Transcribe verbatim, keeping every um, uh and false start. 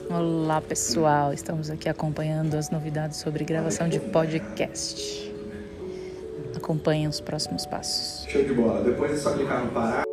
Olá, pessoal. Estamos aqui acompanhando as novidades sobre gravação de podcast. Acompanhem os próximos passos. Show de bola. Depois é só clicar no parar.